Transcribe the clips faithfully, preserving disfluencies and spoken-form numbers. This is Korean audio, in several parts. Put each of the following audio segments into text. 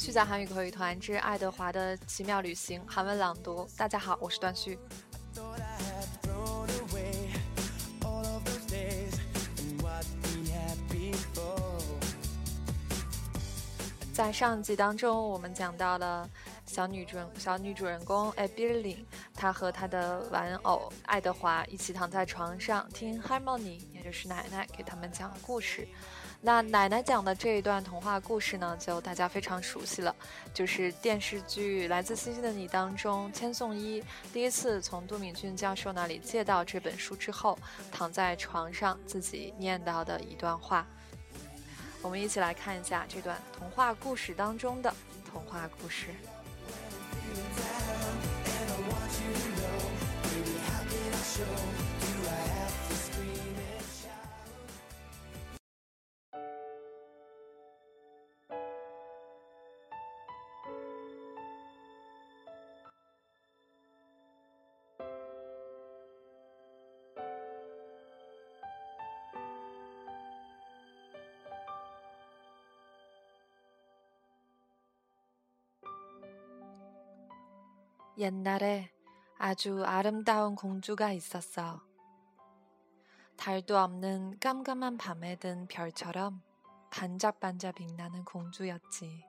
虚假韩语口语团之爱德华的奇妙旅行韩文朗读。大家好，我是段旭。在上集当中，我们讲到了小女主小女主人公艾比琳，她和她的玩偶爱德华一起躺在床上，听 Harmony， 也就是奶奶给他们讲故事。那奶奶讲的这一段童话故事呢，就大家非常熟悉了，就是电视剧《来自星星的你》当中千颂伊第一次从都敏俊教授那里借到这本书之后，躺在床上自己念到的一段话。我们一起来看一下这段童话故事当中的童话故事。옛날에 아주 아름다운 공주가 있었어. 달도 없는 깜깜한 밤에 든 별처럼 반짝반짝 빛나는 공주였지.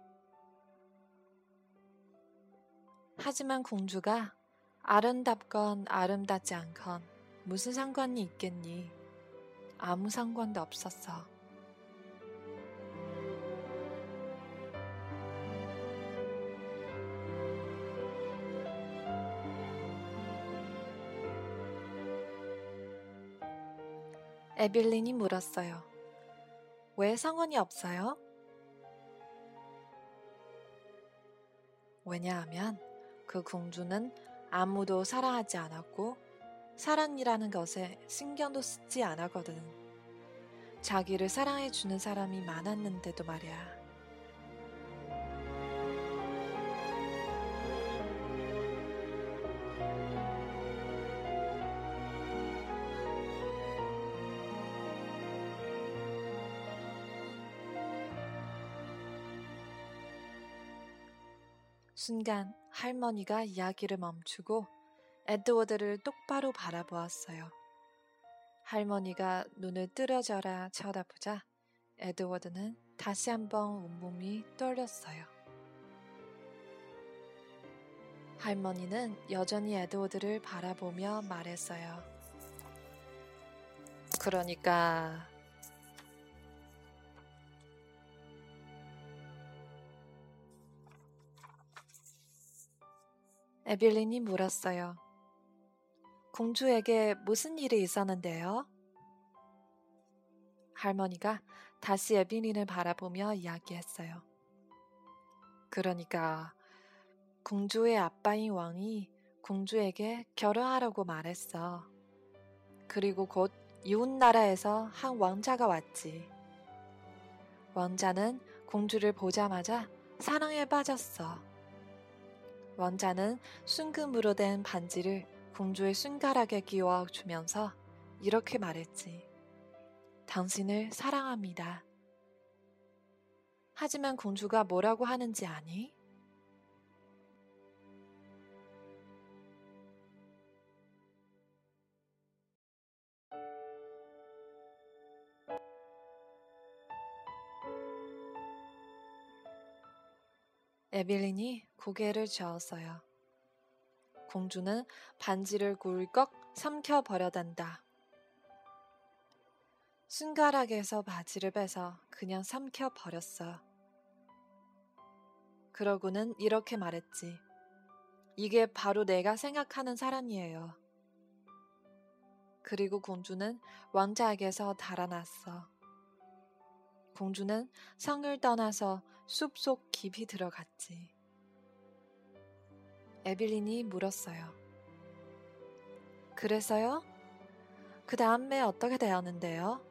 하지만 공주가 아름답건 아름답지 않건 무슨 상관이 있겠니? 아무 상관도 없었어. 에빌린이 물었어요. 왜 상관이 없어요? 왜냐하면 그 공주는 아무도 사랑하지 않았고 사랑이라는 것에 신경도 쓰지 않았거든. 자기를 사랑해주는 사람이 많았는데도 말이야. 순간 할머니가 이야기를 멈추고 에드워드를 똑바로 바라보았어요. 할머니가 눈을 뜨려져라 쳐다보자 에드워드는 다시 한번 온몸이 떨렸어요. 할머니는 여전히 에드워드를 바라보며 말했어요. 그러니까... 에빌린이 물었어요. 공주에게 무슨 일이 있었는데요? 할머니가 다시 에빌린을 바라보며 이야기했어요. 그러니까 공주의 아빠인 왕이 공주에게 결혼하라고 말했어. 그리고 곧 이웃나라에서 한 왕자가 왔지. 왕자는 공주를 보자마자 사랑에 빠졌어. 왕자는 순금으로 된 반지를 공주의 손가락에 끼워주면서 이렇게 말했지. 당신을 사랑합니다. 하지만 공주가 뭐라고 하는지 아니? 에빌린이 고개를 저었어요. 공주는 반지를 굴꺽 삼켜버려단다. 손가락에서 바지를 빼서 그냥 삼켜버렸어. 그러고는 이렇게 말했지. 이게 바로 내가 생각하는 사람이에요. 그리고 공주는 왕자에게서 달아났어. 공주는 성을 떠나서 숲속 깊이 들어갔지. 에빌린이 물었어요. 그래서요? 그 다음에 어떻게 되었는데요?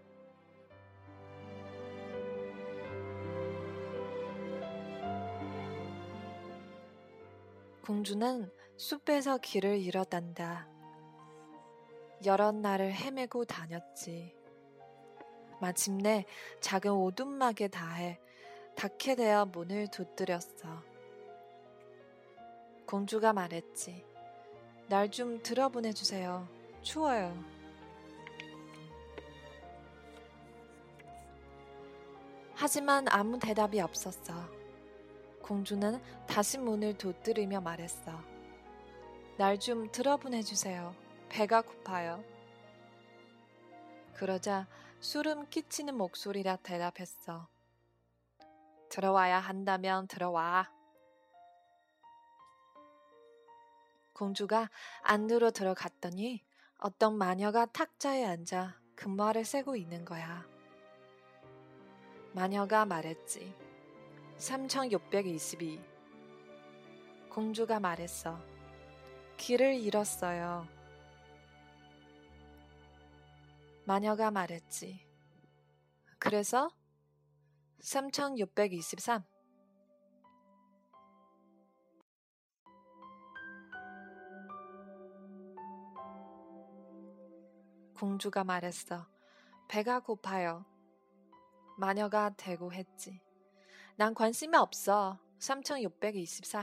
공주는 숲에서 길을 잃어단다. 여러 날을 헤매고 다녔지. 마침내 작은 오두막에 닿아 닿게 되어 문을 두드렸어. 공주가 말했지. 날 좀 들어보내주세요. 추워요. 하지만 아무 대답이 없었어. 공주는 다시 문을 두드리며 말했어. 날 좀 들어보내주세요. 배가 고파요. 그러자 소름 끼치는 목소리라 대답했어. 들어와야 한다면 들어와. 공주가 안으로 들어갔더니 어떤 마녀가 탁자에 앉아 금화를 세고 있는 거야. 마녀가 말했지. 삼천육백이십이. 공주가 말했어. 길을 잃었어요. 마녀가 말했지. 그래서 삼천육백이십삼. 공주가 말했어. 배가 고파요. 마녀가 대고했지. 난 관심이 없어. 삼천육백이십사.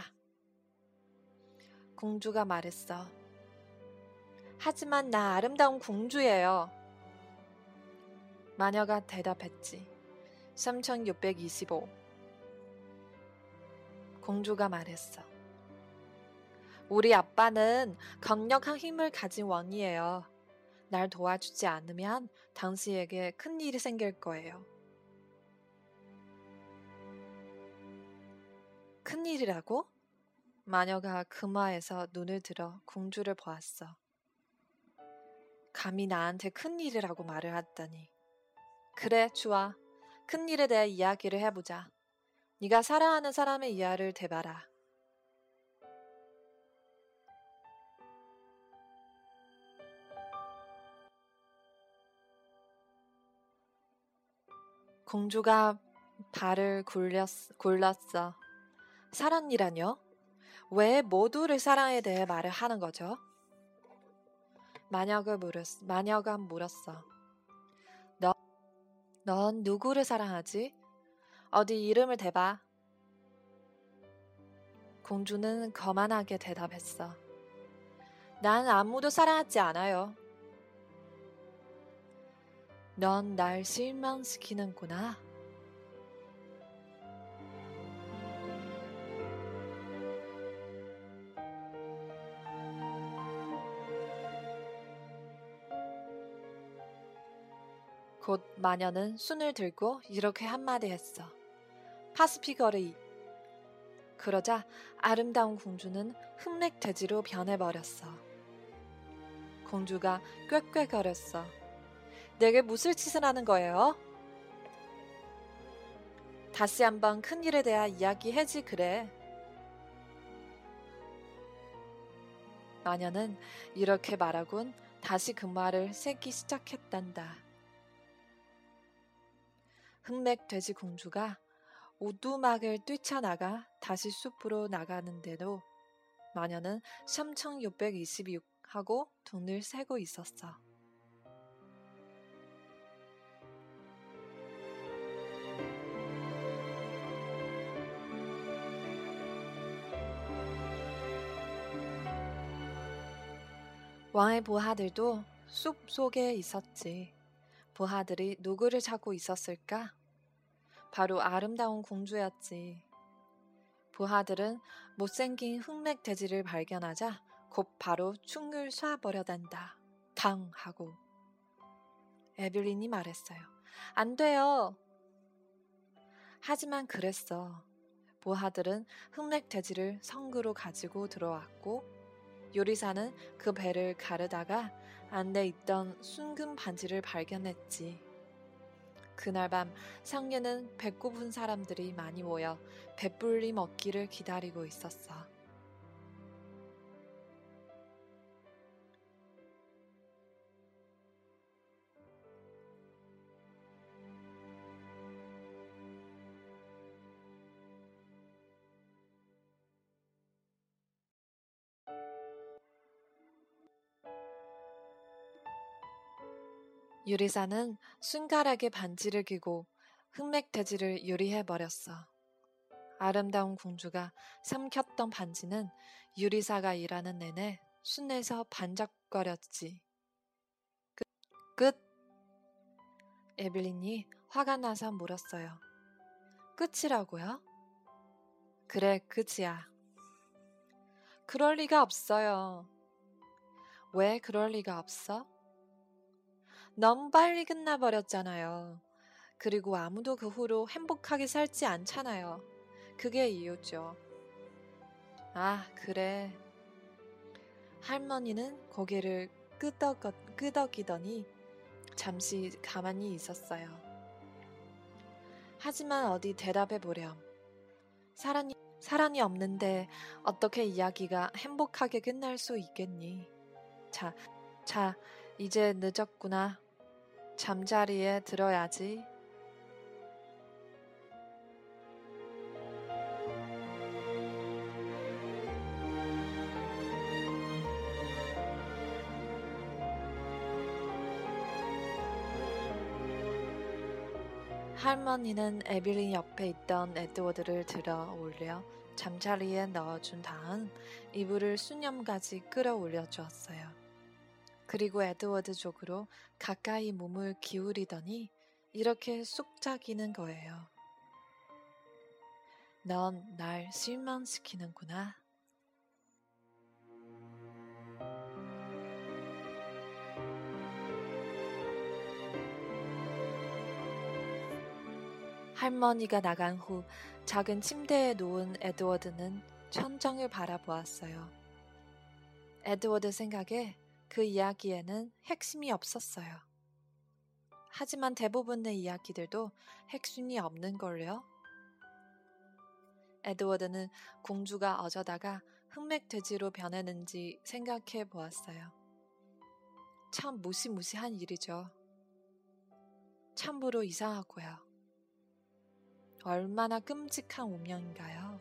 공주가 말했어. 하지만 나 아름다운 공주예요. 마녀가 대답했지. 삼천육백이십오. 공주가 말했어. 우리 아빠는 강력한 힘을 가진 왕이에요. 날 도와주지 않으면 당신에게 큰일이 생길 거예요. 큰일이라고? 마녀가 금화에서 눈을 들어 공주를 보았어. 감히 나한테 큰일이라고 말을 하다니. 그래, 좋아. 큰일에 대해 이야기를 해보자. 네가 사랑하는 사람의 이야기를 대봐라. 공주가 발을 굴렸, 굴렀어. 사랑이라뇨? 왜 모두를 사랑에 대해 말을 하는 거죠? 마녀가 물었, 마녀가 물었어. 너, 넌 누구를 사랑하지? 어디 이름을 대봐. 공주는 거만하게 대답했어. 난 아무도 사랑하지 않아요. 넌 날 실망시키는구나. 곧 마녀는 손을 들고 이렇게 한마디 했어. 파스피거리. 그러자 아름다운 공주는 흑맥돼지로 변해버렸어. 공주가 꾀꾀거렸어. 내게 무슨 짓을 하는 거예요? 다시 한번 큰일에 대해 이야기해지 그래. 마녀는 이렇게 말하곤 다시 금화를 세기 시작했단다. 흑맥돼지 공주가 오두막을 뛰쳐나가 다시 숲으로 나가는데도 마녀는 삼천육백이십육 하고 돈을 세고 있었어. 왕의 부하들도 숲 속에 있었지. 부하들이 누구를 찾고 있었을까? 바로 아름다운 공주였지. 부하들은 못생긴 흑맥돼지를 발견하자 곧 바로 충을 쏴버려댄다. 당 하고. 에블린이 말했어요. 안 돼요. 하지만 그랬어. 부하들은 흑맥돼지를 성으로 가지고 들어왔고 요리사는 그 배를 가르다가 안에 있던 순금 반지를 발견했지. 그날 밤 상류는 배고픈 사람들이 많이 모여 배불리 먹기를 기다리고 있었어. 요리사는 순갈하게 반지를 끼고 흑맥돼지를 요리해버렸어. 아름다운 공주가 삼켰던 반지는 유리사가 일하는 내내 순내서 반짝거렸지. 끝. 끝. 에블린이 화가 나서 물었어요. 끝이라고요? 그래, 끝이야. 그럴 리가 없어요. 왜 그럴 리가 없어? 너무 빨리 끝나버렸잖아요. 그리고 아무도 그 후로 행복하게 살지 않잖아요. 그게 이유죠. 아, 그래. 할머니는 고개를 끄덕, 끄덕이더니 잠시 가만히 있었어요. 하지만 어디 대답해 보렴. 사랑이, 사랑이 없는데 어떻게 이야기가 행복하게 끝날 수 있겠니? 자, 자, 이제 늦었구나. 잠자리에 들어야지. 할머니는 에빌린 옆에 있던 에드워드를 들어 올려 잠자리에 넣어준 다음 이불을 수념까지 끌어올려 주었어요. 그리고 에드워드 쪽으로 가까이 몸을 기울이더니 이렇게 쑥작이는 거예요. 넌 날 실망시키는구나. 할머니가 나간 후 작은 침대에 누운 에드워드는 천정을 바라보았어요. 에드워드 생각에 그 이야기에는 핵심이 없었어요. 하지만 대부분의 이야기들도 핵심이 없는걸요. 에드워드는 공주가 어쩌다가 흑맥돼지로 변했는지 생각해 보았어요. 참 무시무시한 일이죠. 참으로 이상하고요. 얼마나 끔찍한 운명인가요?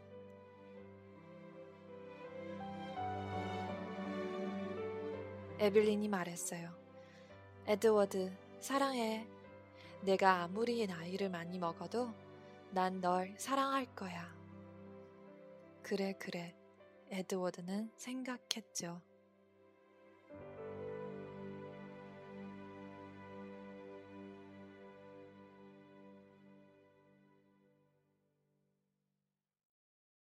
에빌린이 말했어요. 에드워드, 사랑해. 내가 아무리 나이를 많이 먹어도 난 널 사랑할 거야. 그래, 그래. 에드워드는 생각했죠.